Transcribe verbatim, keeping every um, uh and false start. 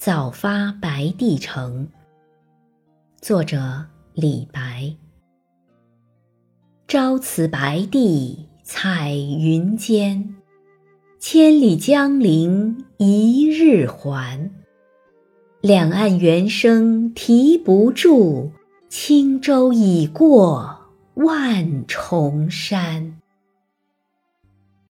早发白帝城。作者李白。朝辞白帝彩云间，千里江陵一日还。两岸猿声啼不住，轻舟已过万重山。